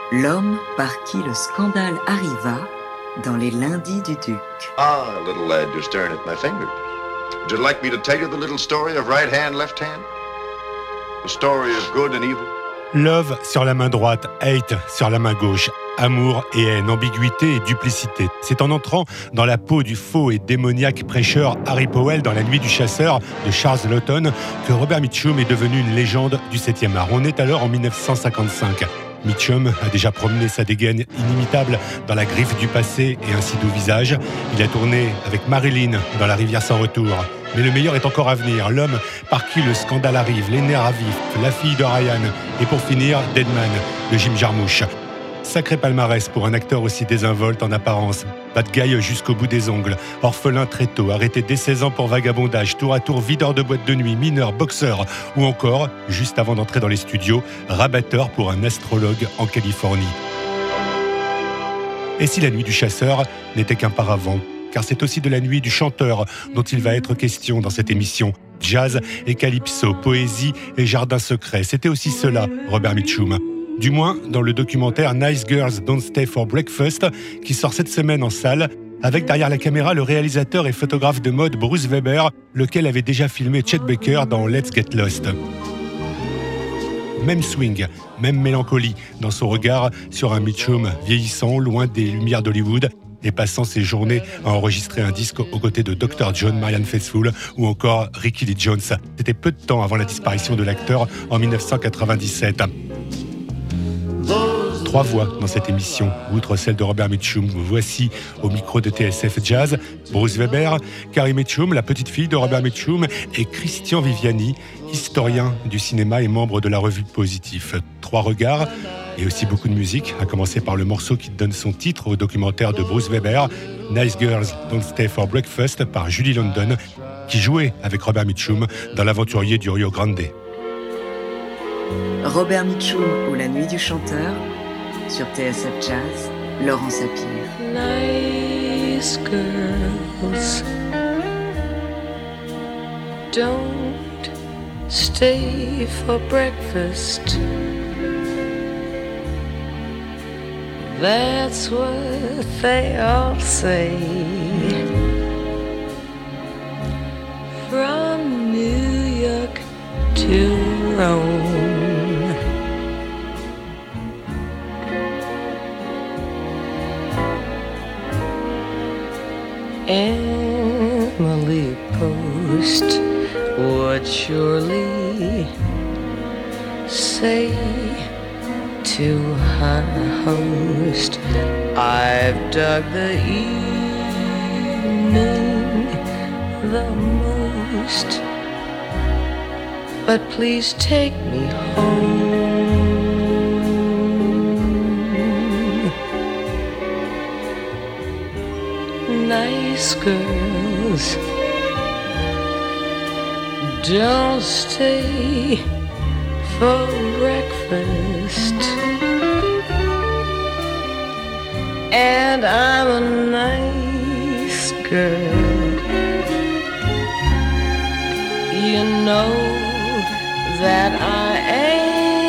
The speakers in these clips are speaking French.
L'homme par qui le scandale arriva dans les lundis du Duc. Ah, little lad, you're staring at my fingers. Would you like me to tell you the little story of right hand, left hand? The story of good and evil? Love sur la main droite, hate sur la main gauche. Amour et haine, ambiguïté et duplicité. C'est en entrant dans la peau du faux et démoniaque prêcheur Harry Powell dans La Nuit du Chasseur de Charles Laughton que Robert Mitchum est devenu une légende du 7e art. On est alors en 1955. Mitchum a déjà promené sa dégaine inimitable dans la griffe du passé et un si doux visage. Il a tourné avec Marilyn dans La Rivière sans retour. Mais le meilleur est encore à venir. L'homme par qui le scandale arrive, les nerfs à vif, La fille de Ryan et pour finir, Deadman de Jim Jarmusch. Sacré palmarès pour un acteur aussi désinvolte en apparence. Bad guy jusqu'au bout des ongles, orphelin très tôt, arrêté dès 16 ans pour vagabondage, tour à tour videur de boîte de nuit, mineur, boxeur, ou encore, juste avant d'entrer dans les studios, rabatteur pour un astrologue en Californie. Et si La Nuit du Chasseur n'était qu'un paravent, car c'est aussi de la nuit du chanteur dont il va être question dans cette émission. Jazz et calypso, poésie et jardin secret, c'était aussi cela, Robert Mitchum. Du moins dans le documentaire Nice Girls Don't Stay for Breakfast, qui sort cette semaine en salle, avec derrière la caméra le réalisateur et photographe de mode Bruce Weber, lequel avait déjà filmé Chet Baker dans Let's Get Lost. Même swing, même mélancolie dans son regard sur un Mitchum vieillissant, loin des lumières d'Hollywood, et passant ses journées à enregistrer un disque aux côtés de Dr. John, Marianne Faithfull ou encore Ricky Lee Jones. C'était peu de temps avant la disparition de l'acteur en 1997. 3 voix dans cette émission, outre celle de Robert Mitchum. Voici au micro de TSF Jazz, Bruce Weber, Carrie Mitchum, la petite fille de Robert Mitchum, et Christian Viviani, historien du cinéma et membre de la revue Positif. 3 regards et aussi beaucoup de musique, à commencer par le morceau qui donne son titre au documentaire de Bruce Weber, Nice Girls Don't Stay for Breakfast, par Julie London, qui jouait avec Robert Mitchum dans L'Aventurier du Rio Grande. Robert Mitchum ou La Nuit du Chanteur, sur TSF Jazz, Laurent Sapir. Nice girls don't stay for breakfast. That's what they all say. From New York to Rome. Emily Post would surely say to her host, I've dug the evening the most, but please take me home. Nice girls don't stay for breakfast, and I'm a nice girl. You know that I am.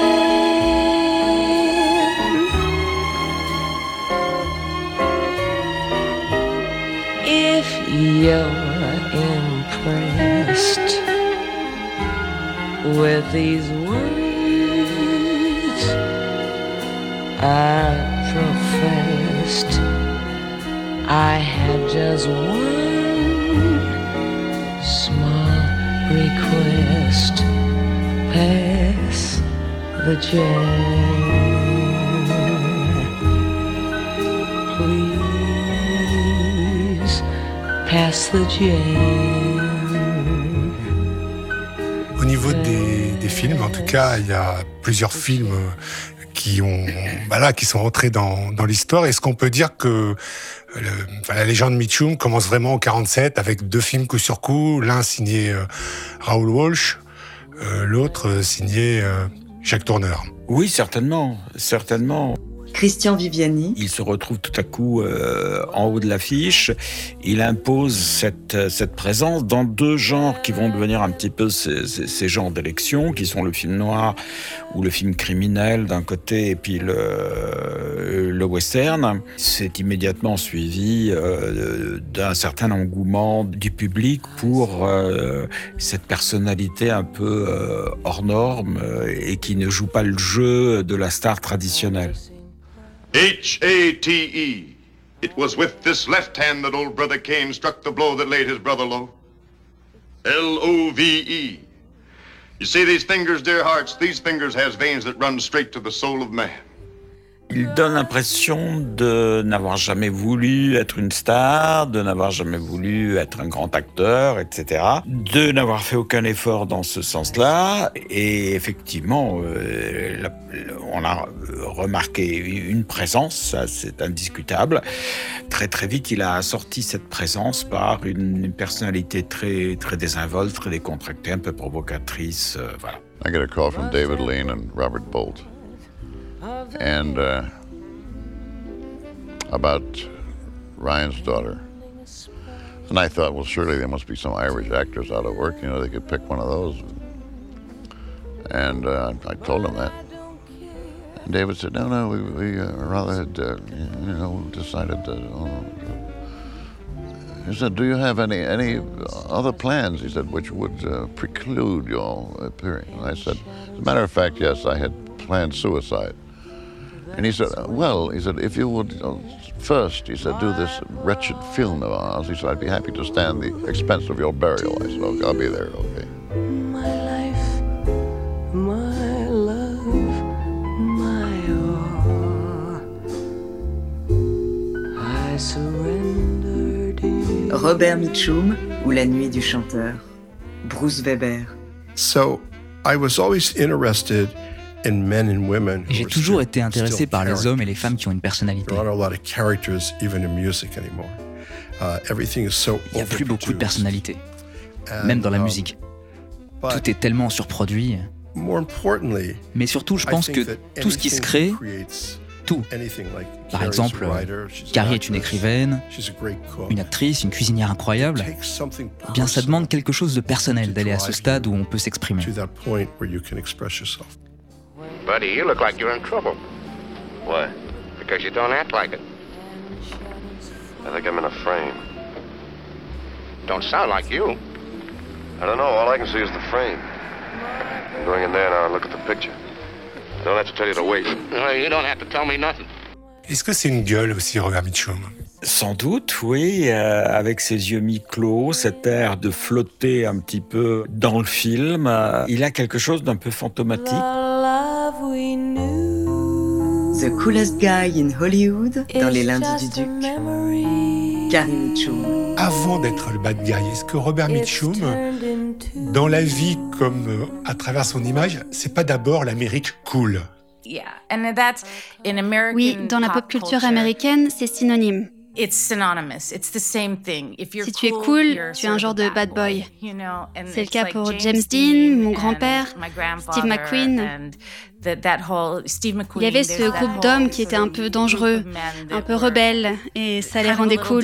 If you're impressed with these words I professed, I had just one small request: pass the jam, please pass the jam. Au niveau des films, en tout cas, il y a plusieurs films qui sont rentrés dans l'histoire. Est-ce qu'on peut dire que la légende Mitchum commence vraiment en 47 avec 2 films coup sur coup, l'un signé Raoul Walsh, l'autre signé Jacques Tourneur? Oui, certainement. Christian Viviani. Il se retrouve tout à coup en haut de l'affiche. Il impose cette présence dans 2 genres qui vont devenir un petit peu ces genres d'élection, qui sont le film noir ou le film criminel d'un côté, et puis le western. C'est immédiatement suivi d'un certain engouement du public pour cette personnalité un peu hors norme et qui ne joue pas le jeu de la star traditionnelle. H-A-T-E. It was with this left hand that old brother Cain struck the blow that laid his brother low. L-O-V-E. You see these fingers, dear hearts, these fingers has veins that run straight to the soul of man. Il donne l'impression de n'avoir jamais voulu être une star, de n'avoir jamais voulu être un grand acteur, etc. De n'avoir fait aucun effort dans ce sens-là. Et effectivement, on a remarqué une présence, ça c'est indiscutable. Très très vite, il a assorti cette présence par une personnalité très, très désinvolte, très décontractée, un peu provocatrice. Voilà. I get a call from David Lean and Robert Bolt. And about Ryan's daughter. And I thought, well, surely there must be some Irish actors out of work. You know, they could pick one of those. And I told him that. And David said, no, we rather had, decided to... He said, do you have any other plans, he said, which would preclude your appearing? And I said, as a matter of fact, yes, I had planned suicide. And he said, if you would first, he said, do this wretched film of ours, he said, I'd be happy to stand the expense of your burial. I said, okay, I'll be there, okay. My life, my love, my all, I surrender to you. Robert Mitchum ou La Nuit du chanteur. Bruce Weber. So, I was always interested in men and women. J'ai toujours été intéressé par les hommes et les femmes qui ont une personnalité. There aren't a lot of characters even in music anymore. Everything is so Il n'y a plus beaucoup de personnalités, même dans la musique. Tout est tellement surproduit. Mais surtout, je pense que tout ce qui se crée, tout. Par exemple, Carrie est une écrivaine, une actrice, une cuisinière incroyable. Eh bien, ça demande quelque chose de personnel d'aller à ce stade où on peut s'exprimer. Buddy, you look like you're in trouble. Why? Because you don't act like it. I think I'm in a frame. Don't sound like you. I don't know, all I can see is the frame. I'm going in there now and look at the picture. I don't have to tell you to wait. You don't have to tell me nothing. Est-ce que c'est une gueule aussi, Robert Mitchum ? Sans doute, oui, avec ses yeux mi-clos, cet air de flotter un petit peu dans le film, il a quelque chose d'un peu fantomatique. The coolest guy in Hollywood dans Les Lundis du Duc. Carrie Mitchum. Avant d'être le bad guy, est-ce que Robert Mitchum, dans la vie comme à travers son image, c'est pas d'abord l'Amérique cool ? Oui, dans la pop culture américaine, c'est synonyme. Si tu es cool, tu es un genre de bad boy. C'est le cas pour James Dean, mon grand-père, Steve McQueen. Il y avait ce groupe d'hommes qui étaient un peu dangereux, un peu rebelles, et ça les rendait cool.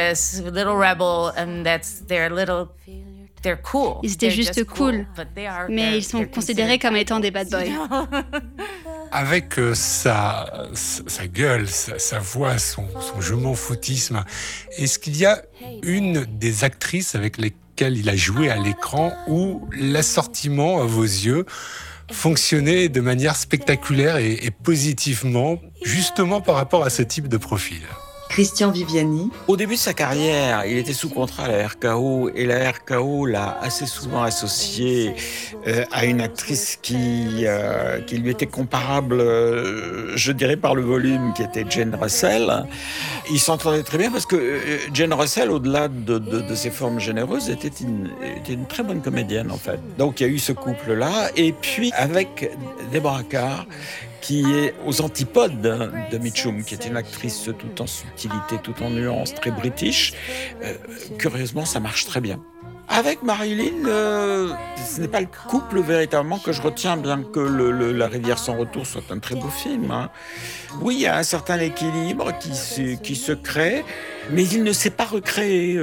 Ils étaient juste cool, mais ils sont considérés comme étant des bad boys. Avec sa gueule, sa voix, son je m'en foutisme, est-ce qu'il y a une des actrices avec lesquelles il a joué à l'écran où l'assortiment, à vos yeux, fonctionnait de manière spectaculaire et positivement, justement par rapport à ce type de profil ? Christian Viviani. Au début de sa carrière, il était sous contrat à la RKO et la RKO l'a assez souvent associé à une actrice qui lui était comparable, je dirais par le volume, qui était Jane Russell. Ils s'entendaient très bien parce que Jane Russell, au-delà de ses formes généreuses, était une très bonne comédienne en fait. Donc il y a eu ce couple-là et puis avec Deborah Kerr, qui est aux antipodes de Mitchum, qui est une actrice tout en subtilité, tout en nuance, très british. Curieusement, ça marche très bien. Avec Marilyn, ce n'est pas le couple véritablement que je retiens, bien que La Rivière sans retour soit un très beau film. Hein. Oui, il y a un certain équilibre qui se crée, mais il ne s'est pas recréé.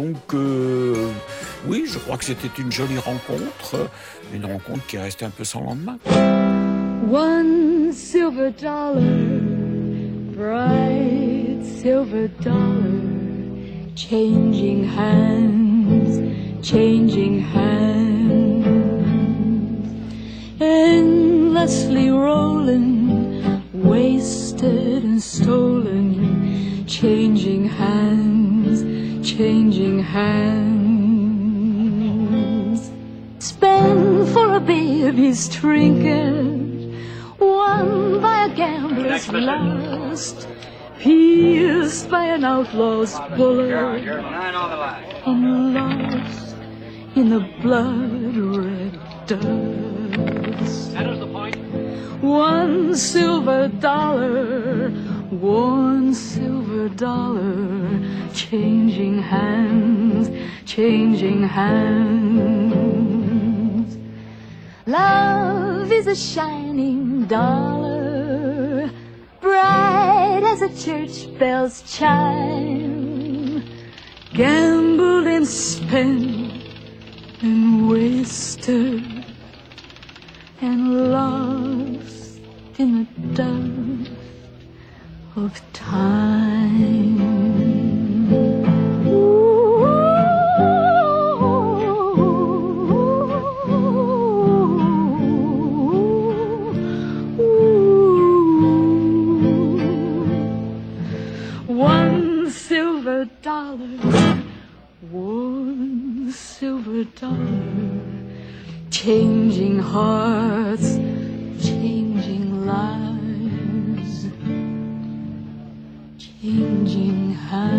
Oui, je crois que c'était une jolie rencontre, une rencontre qui est restée un peu sans lendemain. One silver dollar silver dollar, changing hands, changing hands, endlessly rolling, wasted and stolen, changing hands, changing hands. Spent for a baby's trinket, won by a gambler's lust, pierced by an outlaw's bullet, and lost in the blood-red dust. $1 silver dollar, $1 silver dollar, changing hands, changing hands. Love is a shining dollar, bright as a church bell's chime, gambled and spent and wasted and lost in the dust of time. $1 silver dollar, $1 silver dollar, changing hearts, changing lives, changing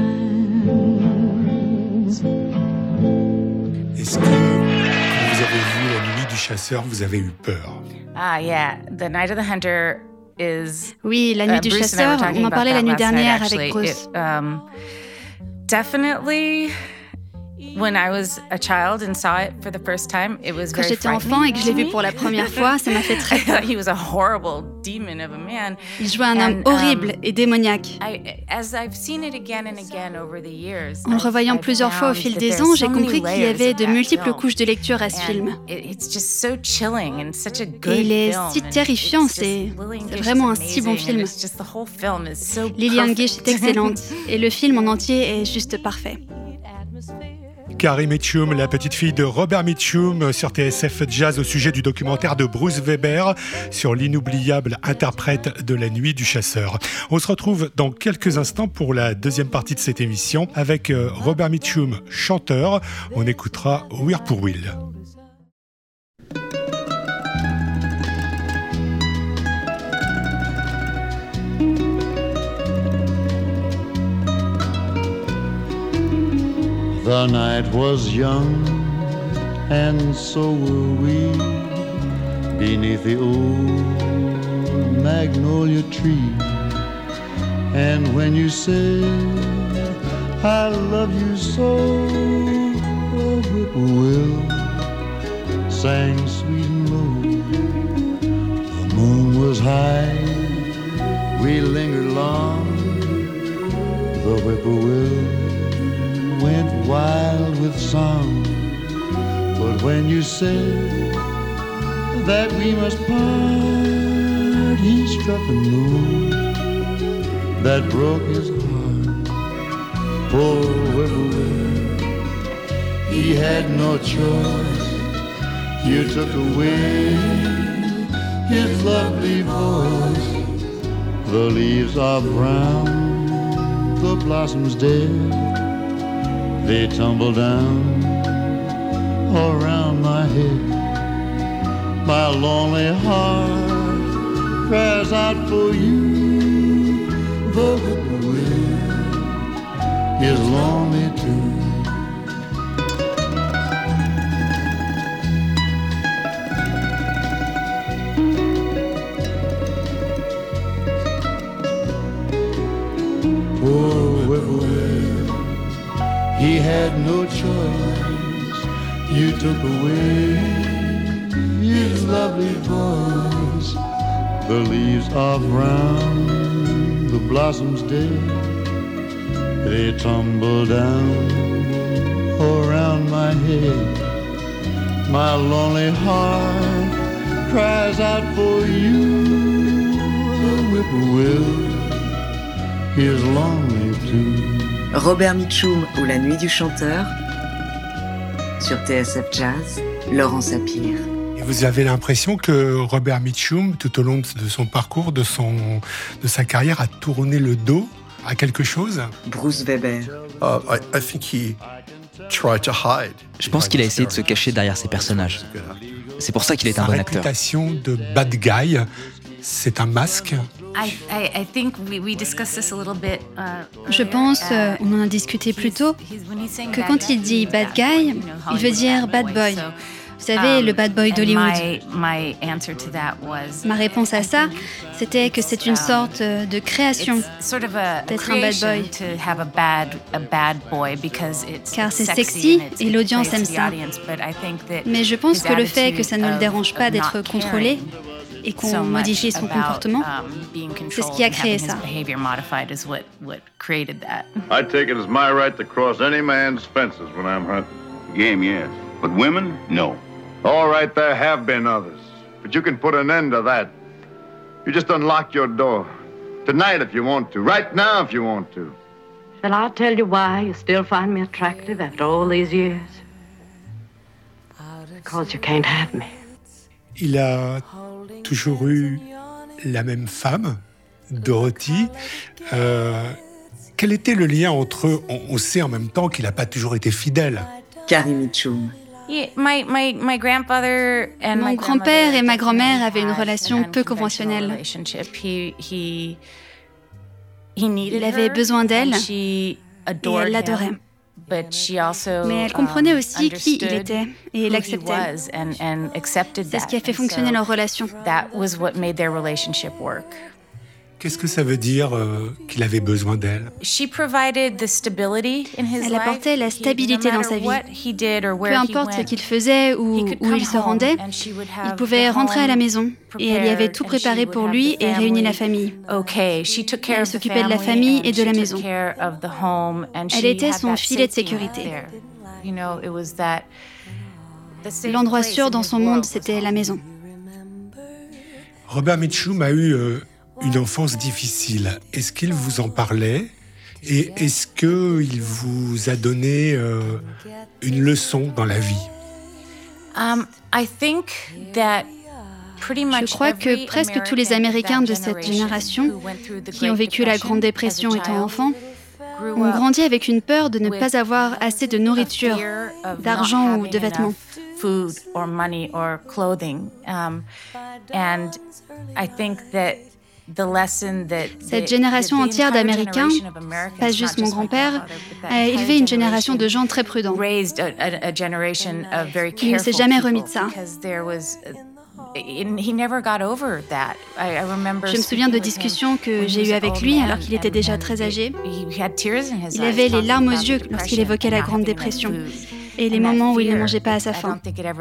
hands. Est-ce que quand vous avez vu La Nuit du Chasseur, vous avez eu peur? Yeah, The Night of the Hunter is. Oui, La Nuit du Chasseur, on en parlait la nuit dernière avec Bruce. Definitely. When I was a child and saw it for the first time, it was Quand very j'étais enfant et que je l'ai vu pour la première fois, ça m'a fait très peur. He was a horrible demon of a man. Il jouait un homme horrible et démoniaque. As I've seen it again and again over the years, en le revoyant plusieurs fois au fil des ans, j'ai compris qu'il y avait de multiples couches de lecture à ce film. It's just so chilling and such a good et il est film. si terrifiant, c'est vraiment un si bon film. Lillian Gish est excellente et le film en entier est juste parfait. Carrie Mitchum, la petite fille de Robert Mitchum, sur TSF Jazz au sujet du documentaire de Bruce Weber sur l'inoubliable interprète de La Nuit du Chasseur. On se retrouve dans quelques instants pour la deuxième partie de cette émission avec Robert Mitchum, chanteur. On écoutera Whirlpool. The night was young, and so were we, beneath the old magnolia tree. And when you said, I love you so, the whippoorwill sang sweet and low. The moon was high, we lingered long, the whippoorwill went wild with song. But when you said that we must part, he struck a note that broke his heart. Poor whippoorwill, he had no choice. You took away his lovely voice. The leaves are brown, the blossoms dead, they tumble down around my head. My lonely heart cries out for you. The whippoorwill is lonely too. Poor whippoorwill, he had no choice. You took away his lovely voice. The leaves are brown, the blossoms dead, they tumble down around my head. My lonely heart cries out for you. The whippoorwill is lonely too. Robert Mitchum ou La Nuit du Chanteur. Sur TSF Jazz, Laurent Sapir. Et vous avez l'impression que Robert Mitchum, tout au long de son parcours, de sa carrière, a tourné le dos à quelque chose? Bruce Weber. I think he tried to hide. Je pense qu'il a essayé de se cacher derrière ses personnages. C'est pour ça qu'il est un bon acteur. Sa réputation de bad guy, c'est un masque. Je pense, on en a discuté plus tôt, que quand il dit bad guy, il veut dire bad boy. Vous savez, le bad boy d'Hollywood. Ma réponse à ça, c'était que c'est une sorte de création d'être un bad boy. Car c'est sexy et l'audience aime ça. Mais je pense que le fait que ça ne le dérange pas d'être contrôlé et qu'on modifie son comportement, c'est ce qui a créé ça. I take it as my right to cross any man's fences when I'm hunting. Game, yes. But women, no. All right, there have been others. But you can put an end to that. You just unlock your door. Tonight if you want to. Right now if you want to. Shall I tell you why you still find me attractive after all these years? Because you can't have me. Il a toujours eu la même femme, Dorothy. Quel était le lien entre eux? On sait en même temps qu'il n'a pas toujours été fidèle. Carrie Mitchum. Mon grand-père et ma grand-mère avaient une relation peu conventionnelle. Il avait besoin d'elle et elle l'adorait. Mais elle comprenait aussi qui il était et l'acceptait. C'est ce qui a fait fonctionner leur relation. Qu'est-ce que ça veut dire qu'il avait besoin d'elle? Elle apportait la stabilité dans sa vie. Peu importe ce qu'il faisait ou où il se rendait, il pouvait rentrer à la maison et elle y avait tout préparé pour lui et réuni la famille. Elle s'occupait de la famille et de la maison. Elle était son filet de sécurité. L'endroit sûr dans son monde, c'était la maison. Robert Mitchum a eu une enfance difficile. Est-ce qu'il vous en parlait? Et est-ce qu'il vous a donné une leçon dans la vie? Je crois que presque tous les Américains de cette génération qui ont vécu la Grande Dépression étant enfants ont grandi avec une peur de ne pas avoir assez de nourriture, d'argent ou de vêtements. Cette génération entière d'Américains, pas juste mon grand-père, a élevé une génération de gens très prudents. Il ne s'est jamais remis de ça. Je me souviens de discussions que j'ai eues avec lui alors qu'il était déjà très âgé. Il avait les larmes aux yeux lorsqu'il évoquait la Grande Dépression et les moments où il ne mangeait pas à sa faim.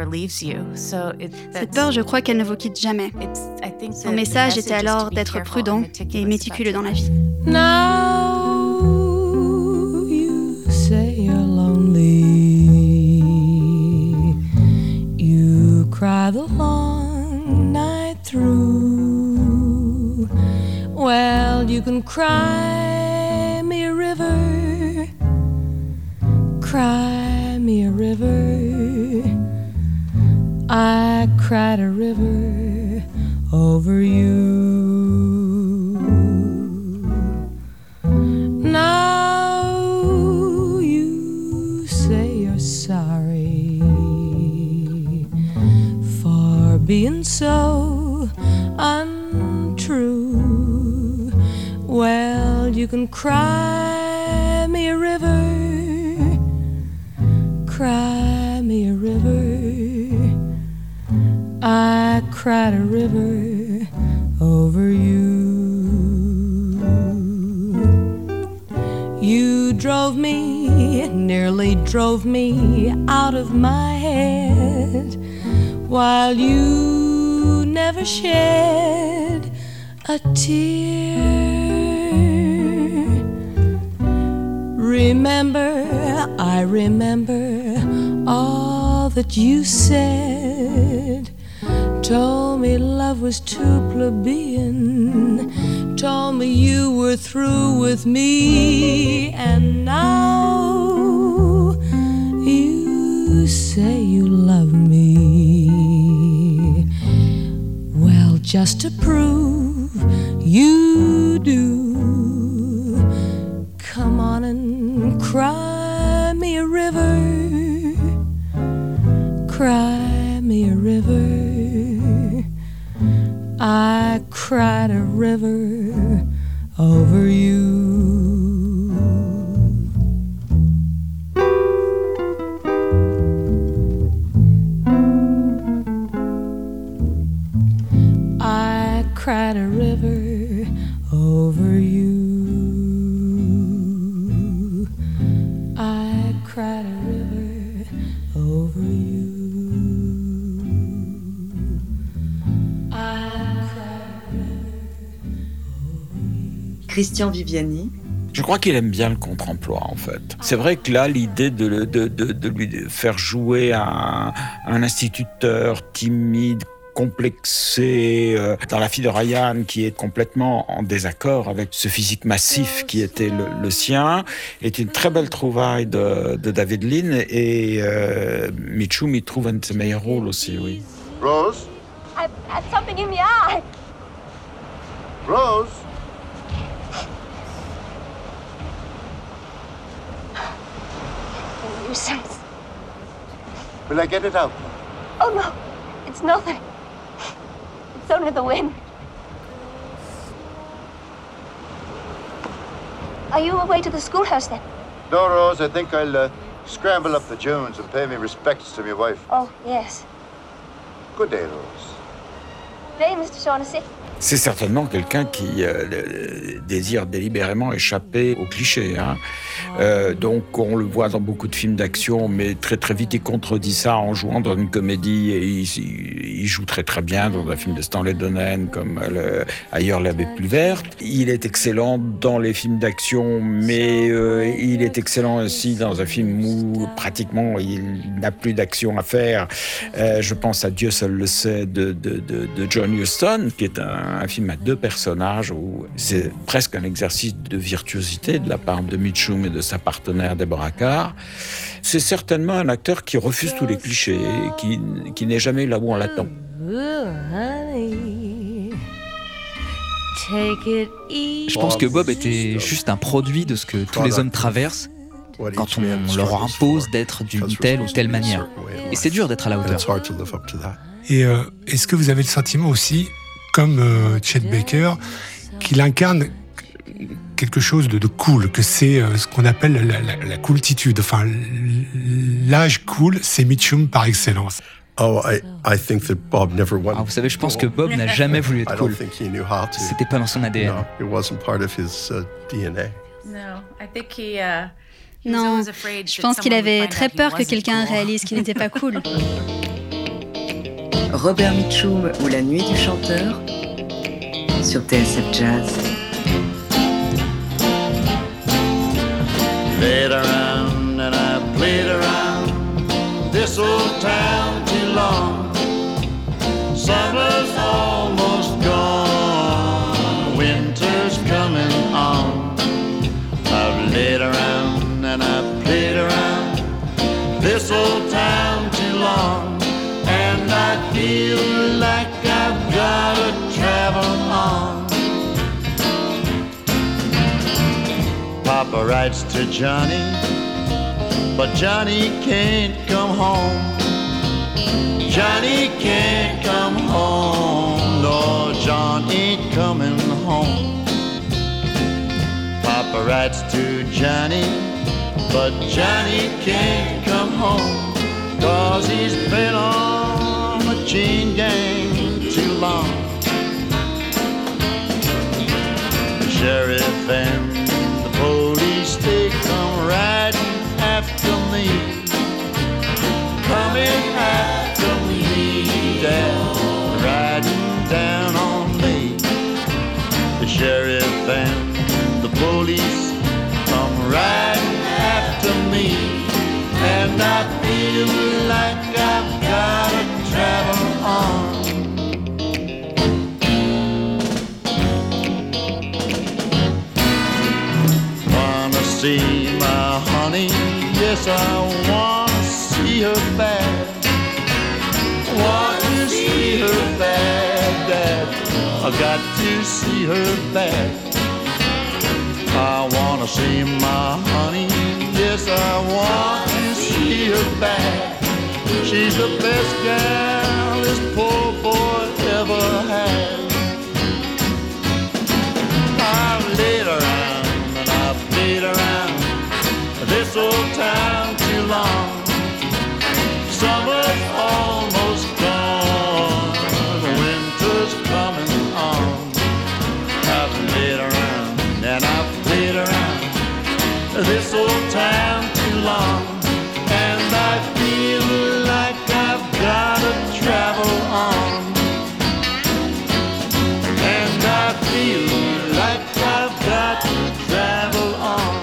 Cette peur, je crois qu'elle ne vous quitte jamais. Son message était alors d'être prudent et méticuleux dans la vie. Now you say you're lonely. You cry the long night through. Well, you can cry me a river. Cry me a river. I cried a river over you. Now you say you're sorry for being so untrue. Well, you can cry me a river. Cry me a river. I cried a river over you. You drove me, nearly drove me out of my head, while you never shed a tear. Remember, I remember all that you said. Told me love was too plebeian, told me you were through with me, and now you say you love me. Well, just to prove you do, come on and cry me a river, cry me a river. I cried a river over you. I cried a river over you. I cried a river over you. Christian Viviani. Je crois qu'il aime bien le contre-emploi, en fait. C'est vrai que là, l'idée de lui faire jouer un instituteur timide, complexé, dans La fille de Ryan, qui est complètement en désaccord avec ce physique massif qui était le sien, est une très belle trouvaille de David Lean, et Mitchum y trouve un de ses meilleurs rôles aussi, oui. Rose? I've had something in the eye. Rose? Nuisance. Will I get it out? Oh no, it's nothing. It's only the wind. Are you away to the schoolhouse then? No, Rose, I think I'll scramble up the dunes and pay me respects to my wife. Oh, yes. Good day, Rose. Good day, Mr. Shaughnessy. C'est certainement quelqu'un qui désire délibérément échapper aux clichés. Hein. Donc on le voit dans beaucoup de films d'action, mais très très vite il contredit ça en jouant dans une comédie, et il joue très très bien dans un film de Stanley Donen comme Ailleurs l'herbe est plus verte. Il est excellent dans les films d'action, mais il est excellent aussi dans un film où pratiquement il n'a plus d'action à faire. Je pense à Dieu seul le sait de John Huston, qui est un film à deux personnages où c'est presque un exercice de virtuosité de la part de Mitchum et de sa partenaire Deborah Carr. C'est certainement un acteur qui refuse tous les clichés et qui n'est jamais là où on l'attend. Je pense que Bob était juste un produit de ce que tous les hommes traversent quand on leur impose d'être d'une telle ou telle manière. Et c'est dur d'être à la hauteur. Et est-ce que vous avez le sentiment aussi, comme Chet Baker, qu'il incarne quelque chose de cool, que c'est ce qu'on appelle la cooltitude. Enfin, l'âge cool, c'est Mitchum par excellence. Oh, I think that Bob never wanted. Vous savez, je pense que Bob n'a jamais voulu être cool. C'était pas dans son ADN. No, it wasn't part of his DNA. Non, je pense qu'il avait très peur que quelqu'un réalise qu'il n'était pas cool. Robert Mitchum ou La nuit du chanteur sur TSF Jazz. Played around and I played around this old town too long. Summer's almost gone, winter's coming on. I've laid around and I played around this old town too long, and I feel like I've gotta travel on. Papa writes to Johnny, but Johnny can't come home. Johnny can't come home, no, John ain't coming home. Papa writes to Johnny, but Johnny can't come home, 'cause he's been on the chain gang too long. The sheriff and the police, they come riding after me, coming after me, down, riding down on me. The sheriff and the police come riding after me, and I feel like I've gotta travel on. see my honey. Yes, I wanna see her bad. Want to see her bad, Dad. I got to see her bad. I wanna see my honey. Yes, I want to see her bad. She's the best gal this poor boy ever had. I've laid around and I've played around this old town too long. Summer's almost gone, the winter's coming on. I've laid around and I've played around this old town too long, and I feel like I've gotta travel on, and I feel like I've got to travel on.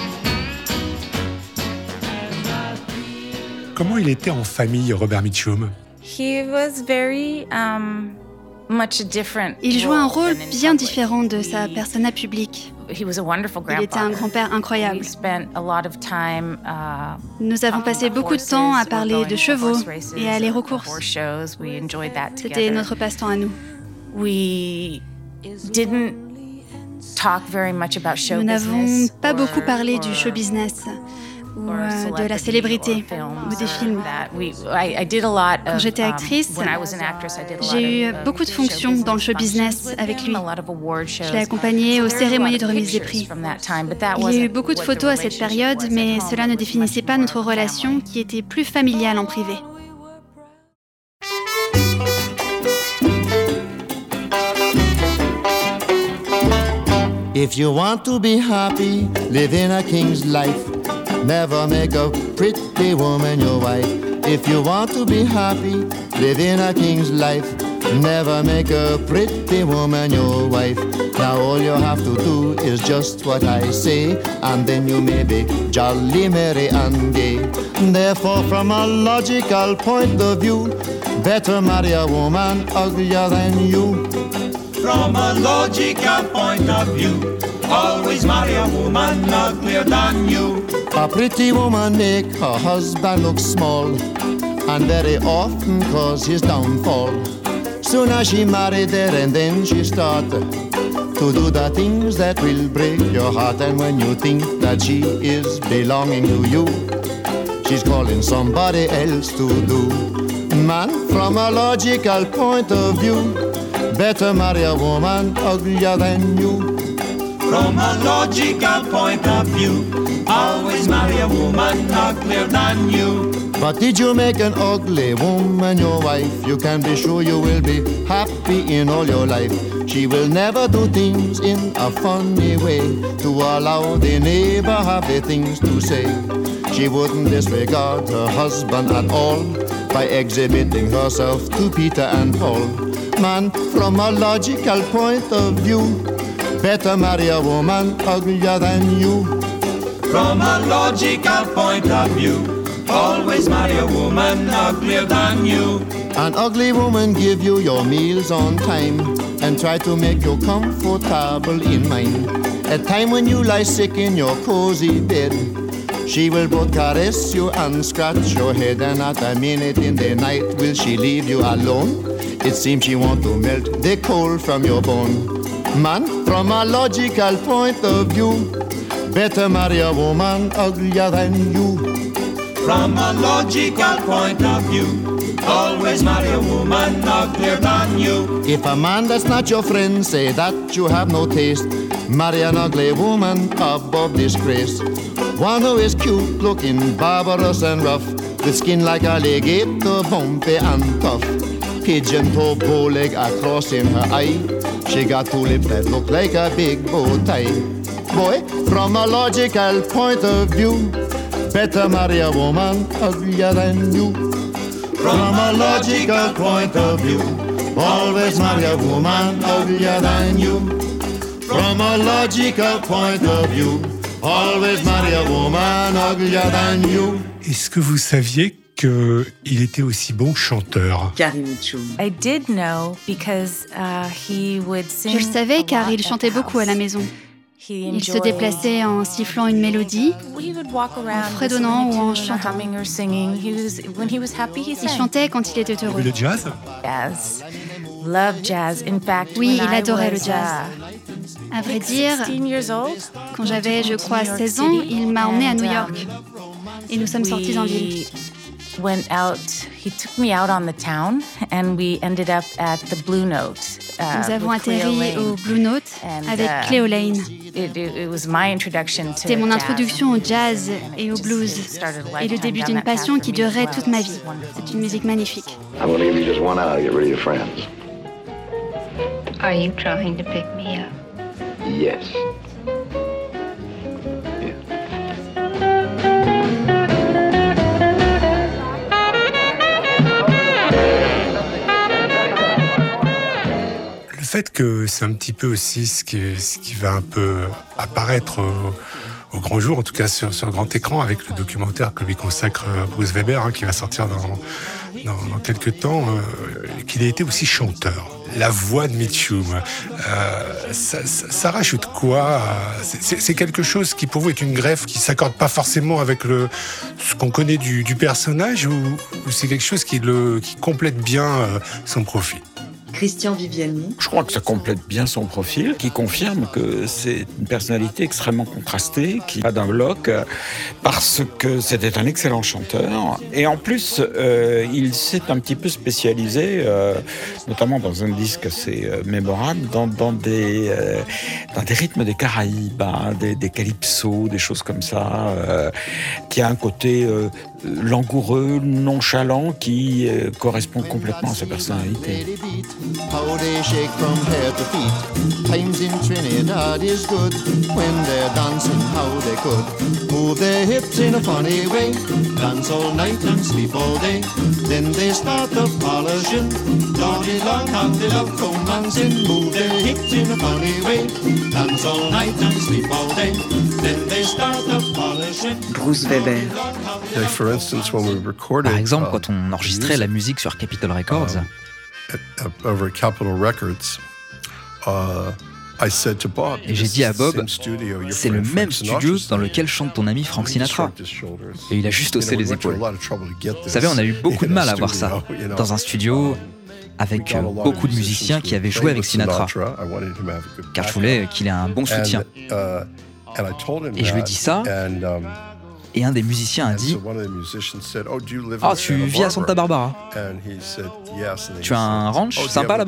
Comment il était en famille, Robert Mitchum? He was very much different. Il jouait un rôle bien différent de sa persona publique. He was a wonderful grandfather. Il était un grand-père incroyable. We spent a lot of time, nous avons passé beaucoup de temps à parler de chevaux et à aller aux courses. C'était notre passe-temps à nous. Nous n'avons pas beaucoup parlé du show business ou de la célébrité ou des films. Quand j'étais actrice, j'ai eu beaucoup de fonctions dans le show business avec lui. Je l'ai accompagné aux cérémonies de remise des prix. Il y a eu beaucoup de photos à cette période, mais cela ne définissait pas notre relation qui était plus familiale en privé. If you want to be happy, live in a king's life. Never make a pretty woman your wife. If you want to be happy, live in a king's life. Never make a pretty woman your wife. Now all you have to do is just what I say, and then you may be jolly, merry and gay. Therefore, from a logical point of view, better marry a woman uglier than you. From a logical point of view, always marry a woman uglier than you. A pretty woman make her husband look small, and very often cause his downfall. Soon as she married there, and then she start to do the things that will break your heart. And when you think that she is belonging to you, she's calling somebody else to do. Man, from a logical point of view, better marry a woman uglier than you. From a logical point of view, always marry a woman uglier than you. But did you make an ugly woman your wife, you can be sure you will be happy in all your life. She will never do things in a funny way to allow the neighbor have the things to say. She wouldn't disregard her husband at all by exhibiting herself to Peter and Paul. Man, from a logical point of view, better marry a woman uglier than you. From a logical point of view, always marry a woman uglier than you. An ugly woman give you your meals on time and try to make you comfortable in mind. At time when you lie sick in your cozy bed, she will both caress you and scratch your head, and not a minute in the night will she leave you alone. It seems she want to melt the coal from your bone. Man, from a logical point of view, better marry a woman uglier than you. From a logical point of view, always marry a woman uglier than you. If a man that's not your friend say that you have no taste, marry an ugly woman above disgrace. One who is cute looking, barbarous and rough, with skin like alligator, bumpy and tough. Pigeon toe, bow leg across in her eye. She got two lips that look like a big bow tie. Boy, from a logical point of view, better marry a woman uglier than you. From a logical point of view, always marry a woman uglier than you. From a logical point of view, always marry a woman uglier than you. Est-ce que vous saviez qu'il était aussi bon chanteur? Carrie Mitchum. Je le savais car il chantait beaucoup à la maison. Il se déplaçait en sifflant une mélodie, en fredonnant ou en chantant. Il chantait quand il était heureux. Le jazz? Oui, il adorait le jazz. À vrai dire, quand j'avais, je crois, 16 ans, il m'a emmenée à New York. Et nous sommes sortis en ville. He took me out on the town and we ended up at the Blue Note. Nous avons atterri au Blue Note avec Cleo Lane. C'était mon introduction au jazz et au blues et le début d'une passion qui durerait toute ma vie. C'est une musique magnifique. I'm going to give you just 1 hour to get rid of your friends. Are you trying to pick me up? Yes. Le fait que c'est un petit peu aussi ce qui va un peu apparaître au grand jour, en tout cas sur le grand écran, avec le documentaire que lui consacre Bruce Weber, qui va sortir dans quelques temps, qu'il ait été aussi chanteur. La voix de Mitchum, ça rajoute quoi? C'est quelque chose qui pour vous est une greffe qui s'accorde pas forcément avec ce qu'on connaît du personnage, ou c'est quelque chose qui complète bien son profil? Christian Viviani. Je crois que ça complète bien son profil, qui confirme que c'est une personnalité extrêmement contrastée, qui va d'un bloc, parce que c'était un excellent chanteur. Et en plus, il s'est un petit peu spécialisé, notamment dans un disque assez mémorable, dans des rythmes des Caraïbes, des calypsos, des choses comme ça, qui a un côté langoureux, nonchalant, qui correspond complètement à sa personnalité. How they shake from head to feet. Times in Trinidad is good. When they're dancing, how they could move their hips in a funny way. Dance all night and sleep all day. Then they start the polishing. Johnny long, how they love romancing. Move their hips in a funny way. Dance all night and sleep all day. Then they start the polishing. Bruce Weber. Par exemple, quand on enregistrait la musique sur Capitol Records, over Capitol Records, et j'ai dit à Bob, c'est le même studio dans lequel chante ton ami Frank Sinatra. Et il a juste haussé les épaules. Vous savez, on a eu beaucoup de mal à voir ça dans un studio avec beaucoup de musiciens qui avaient joué avec Sinatra, car je voulais qu'il ait un bon soutien. Et je lui ai dit ça, et un des musiciens a dit « Ah, tu vis à Santa Barbara? Tu as un ranch sympa là-bas ?»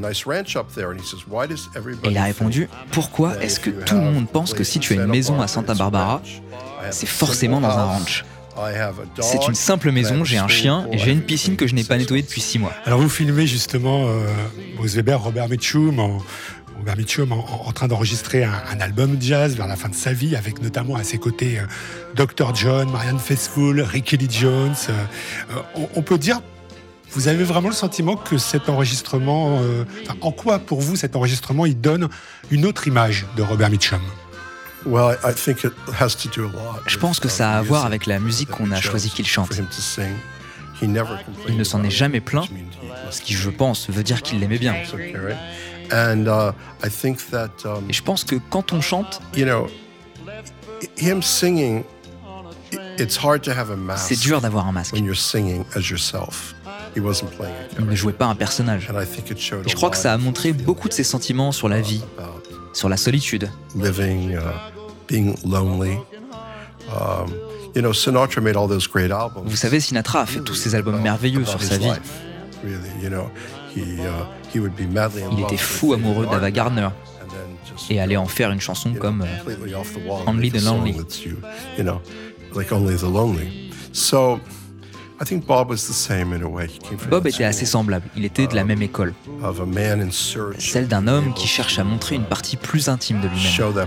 Et il a répondu « Pourquoi est-ce que tout le monde pense que si tu as une maison à Santa Barbara, c'est forcément dans un ranch ? C'est une simple maison, j'ai un chien et j'ai une piscine que je n'ai pas nettoyée depuis 6 mois. » Alors vous filmez justement Bruce Weber, Robert Mitchum en train d'enregistrer un album jazz vers la fin de sa vie, avec notamment à ses côtés Dr. John, Marianne Faithfull, Ricky Lee Jones. On peut dire, vous avez vraiment le sentiment que cet enregistrement, en quoi pour vous cet enregistrement, il donne une autre image de Robert Mitchum? Je pense que ça a à voir avec la musique qu'on a choisi qu'il chante. Il ne s'en est jamais plaint, ce qui, je pense, veut dire qu'il l'aimait bien. Et je pense que quand on chante, c'est dur d'avoir un masque. Il ne jouait pas un personnage. Et je crois que ça a montré beaucoup de ses sentiments sur la vie, sur la solitude. Vous savez, Sinatra a fait tous ces albums merveilleux sur sa vie. Il était fou amoureux d'Ava Gardner et allait en faire une chanson comme Only the Lonely. Bob était assez semblable, il était de la même école, celle d'un homme qui cherche à montrer une partie plus intime de lui-même.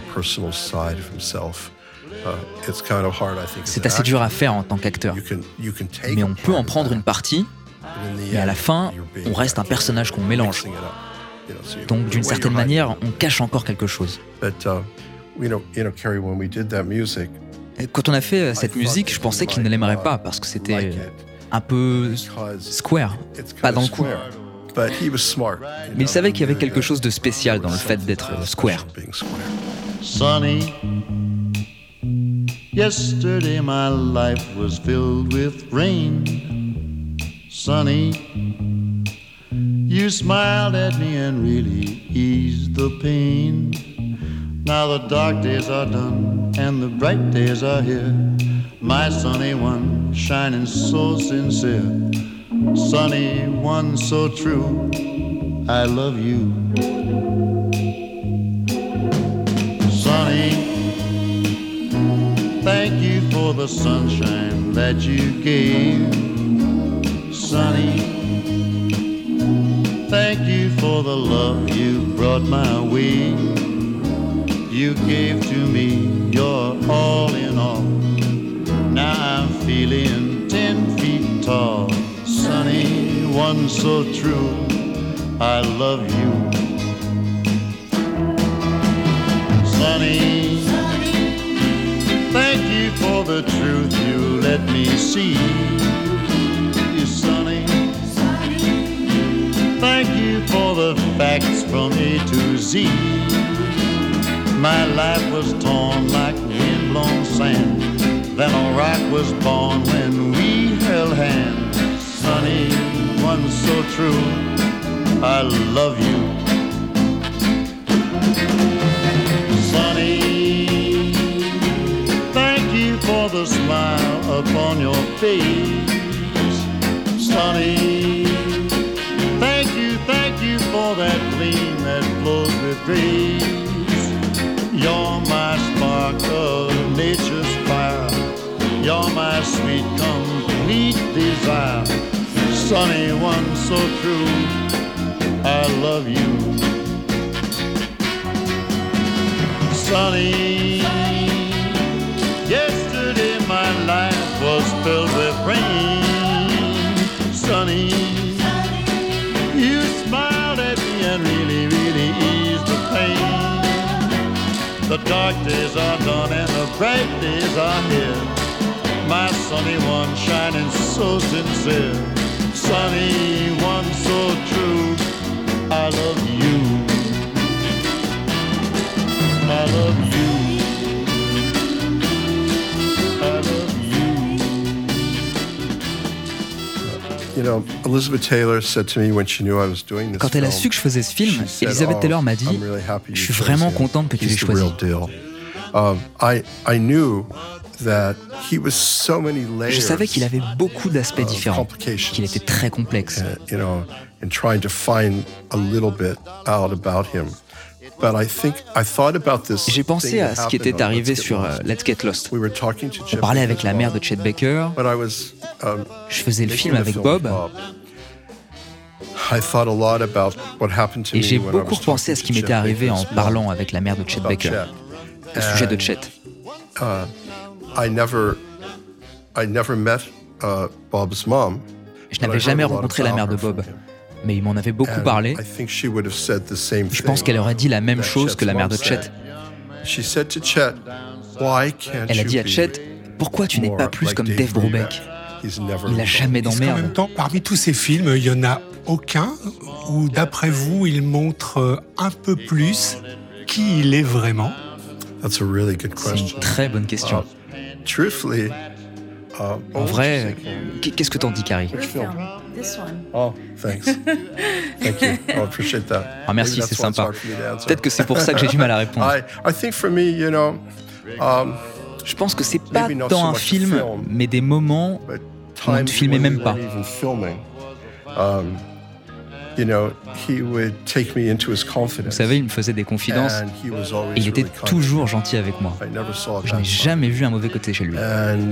C'est assez dur à faire en tant qu'acteur, mais on peut en prendre une partie, et à la fin, on reste un personnage qu'on mélange. Donc d'une certaine manière, on cache encore quelque chose. Quand on a fait cette musique, je pensais qu'il ne l'aimerait pas parce que c'était un peu square, pas dans le coup. Mais il savait qu'il y avait quelque chose de spécial dans le fait d'être square. Sonny, yesterday my life was filled with rain. Sonny, you smiled at me and really eased the pain. Now the dark days are done and the bright days are here. My sunny one, shining so sincere. Sunny one, so true, I love you. Sunny, thank you for the sunshine that you gave. Sunny, thank you for the love you brought my way. You gave to me your all in all. Now I'm feeling 10 feet tall. Sunny, one so true, I love you. Sunny, thank you for the truth you let me see. Sunny, thank you for the facts from A to Z. My life was torn like wind-blown sand. Then a rock was born when we held hands. Sunny, one so true, I love you. Sunny, thank you for the smile upon your face. Sunny, thank you for that gleam that flows with grace. You're my spark of nature's fire. You're my sweet, complete desire. Sunny one so true, I love you. Sunny, yesterday my life was filled with rain. Sunny, you smiled at me and really, really eased the pain. The dark days are done and the bright days are here. My sunny one shining so sincere. Sunny one so true, I love you. I love you. I love you. You know, Elizabeth Taylor said to me when she knew I was doing this. Quand elle a su que je faisais ce film, Elizabeth Taylor m'a dit « Je suis vraiment contente que tu l'aies choisi. » I knew that he was so many layers. Je savais qu'il avait beaucoup d'aspects différents, qu'il était très complexe. You know, and trying to find a little bit out about him. But I thought about this. J'ai pensé à ce qui était arrivé sur Let's Get Lost. On parlait avec la mère de Chet Baker. Je faisais le film avec Bob. Et j'ai beaucoup repensé à ce qui m'était arrivé en parlant avec la mère de Chet Baker au sujet de Chet. I never met Bob's mom. Je n'avais jamais rencontré la mère de Bob, mais il m'en avait beaucoup parlé. Je pense qu'elle aurait dit la même chose que la mère de Chet. Elle a dit à Chet, pourquoi tu n'es pas plus comme Dave Brubeck? Il n'a jamais d'emmerde. En même temps, parmi tous ces films, il n'y en a aucun où, d'après vous, il montre un peu plus qui il est vraiment? C'est une très bonne question. En vrai, qu'est-ce que t'en dis, Carrie? Oh, thanks. Thank you. I appreciate that. Ah, merci, c'est sympa. Peut-être que c'est pour ça que j'ai du mal à répondre. I think for me, you know, je pense que c'est pas tant un film, mais des moments où on ne filmait même pas. Vous savez, il me faisait des confidences et il était toujours gentil avec moi. Je n'ai jamais vu un mauvais côté chez lui.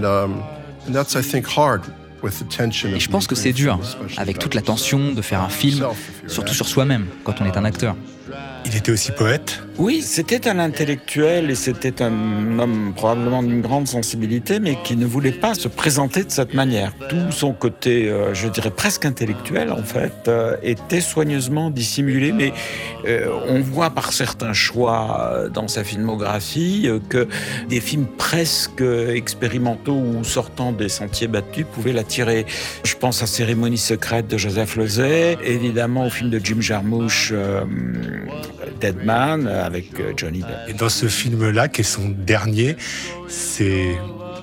Et je pense que c'est dur, avec toute la tension de faire un film, surtout sur soi-même, quand on est un acteur. Il était aussi poète? Oui, c'était un intellectuel et c'était un homme probablement d'une grande sensibilité, mais qui ne voulait pas se présenter de cette manière. Tout son côté, je dirais presque intellectuel, en fait, était soigneusement dissimulé, mais on voit par certains choix dans sa filmographie que des films presque expérimentaux ou sortant des sentiers battus pouvaient l'attirer. Je pense à Cérémonie secrète de Joseph Losey, évidemment au film de Jim Jarmusch, Dead Man avec Johnny Depp. Et dans ce film-là, qui est son dernier, c'est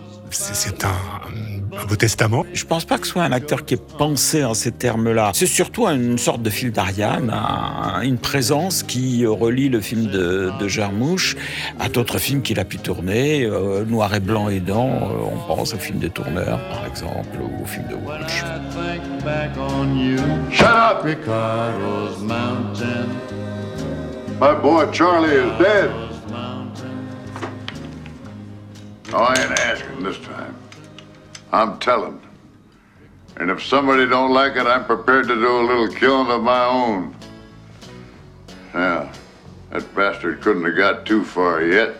un beau testament. Je pense pas que ce soit un acteur qui ait pensé en ces termes-là. C'est surtout une sorte de fil d'Ariane, une présence qui relie le film de Jarmusch à d'autres films qu'il a pu tourner, noir et blanc aidant. On pense au film de Tourneur, par exemple, ou au film de Walsh. Shut up, Ricardo's Mountain. My boy Charlie is dead. Oh, I ain't asking this time. I'm telling. And if somebody don't like it, I'm prepared to do a little killing of my own. Yeah, that bastard couldn't have got too far yet.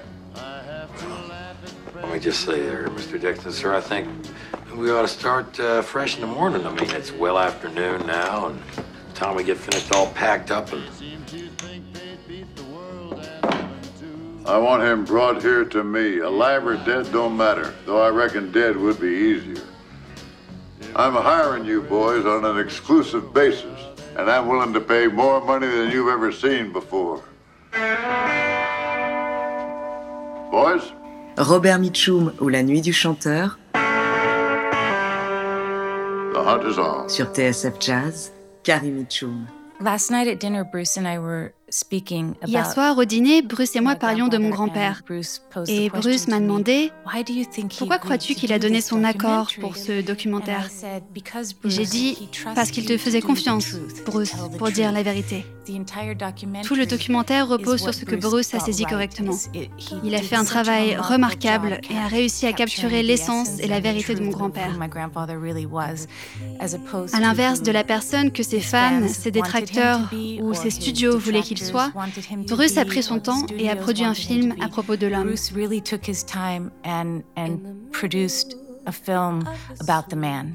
Let me just say there, Mr. Dixon, sir, I think we ought to start fresh in the morning. I mean, it's well afternoon now, and by the time we get finished all packed up and... I want him brought here to me. Alive or dead don't matter, though I reckon dead would be easier. I'm hiring you boys on an exclusive basis, and I'm willing to pay more money than you've ever seen before. Boys? Robert Mitchum ou La Nuit du Chanteur. The hunt is on. Sur TSF Jazz, Carrie Mitchum. Last night at dinner, Bruce and I were speaking about... Hier soir, au dîner, Bruce et moi parlions de mon grand-père. Et Bruce m'a demandé « Pourquoi crois-tu qu'il a donné son accord pour ce documentaire ?» J'ai dit « Parce qu'il te faisait confiance, Bruce, pour dire la vérité. » Tout le documentaire repose sur ce que Bruce a saisi correctement. Il a fait un travail remarquable et a réussi à capturer l'essence et la vérité de mon grand-père. À l'inverse de la personne que ses fans, ses détracteurs ou ses studios voulaient qu'il soit, Bruce a pris son temps et a produit un film à propos de l'homme. Bruce really took his time and produced a film about the man.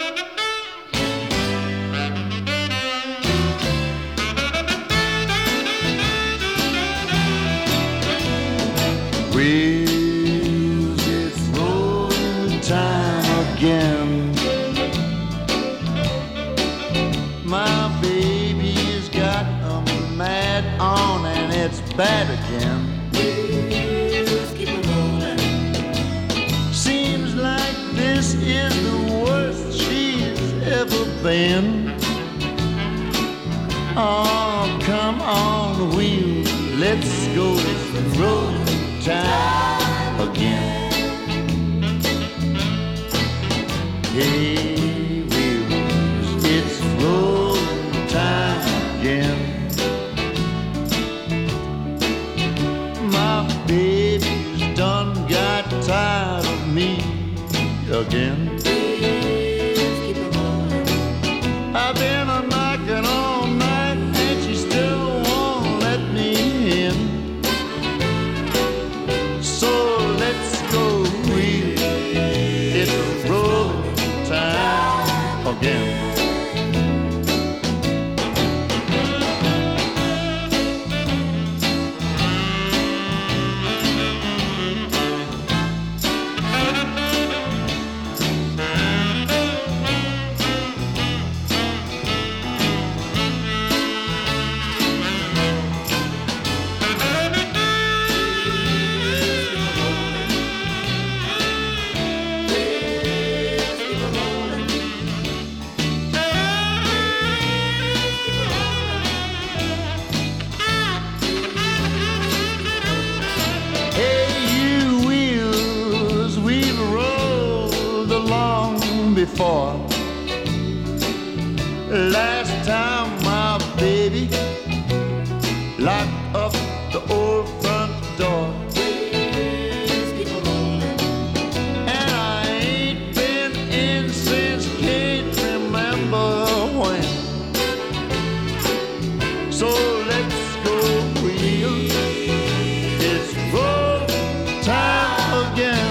Wheels, it's rolling time again. My baby's got a mad on and it's bad again. Wheels, keep it rolling. Seems like this is the worst she's ever been. Oh, come on, wheels, let's go, it's rolling time again. Hey, wheels, it's rolling time again. My baby's done got tired of me again. I've been a knocking all night and she still won't let me in. So let's go, wheel, it's rolling time again. Before last time my baby locked up the old front door, and I ain't been in since can't remember when. So let's go, wheel, it's roll time again.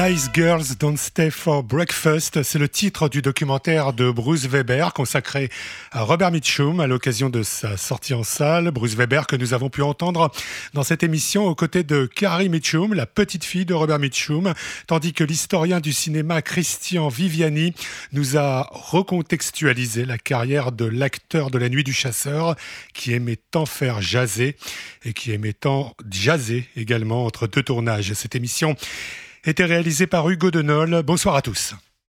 Nice Girls Don't Stay for Breakfast, c'est le titre du documentaire de Bruce Weber consacré à Robert Mitchum à l'occasion de sa sortie en salle. Bruce Weber que nous avons pu entendre dans cette émission aux côtés de Carrie Mitchum, la petite fille de Robert Mitchum, tandis que l'historien du cinéma Christian Viviani nous a recontextualisé la carrière de l'acteur de La Nuit du Chasseur qui aimait tant faire jaser et qui aimait tant jaser également entre deux tournages. Cette émission était réalisée par Hugo Denol. Bonsoir à tous.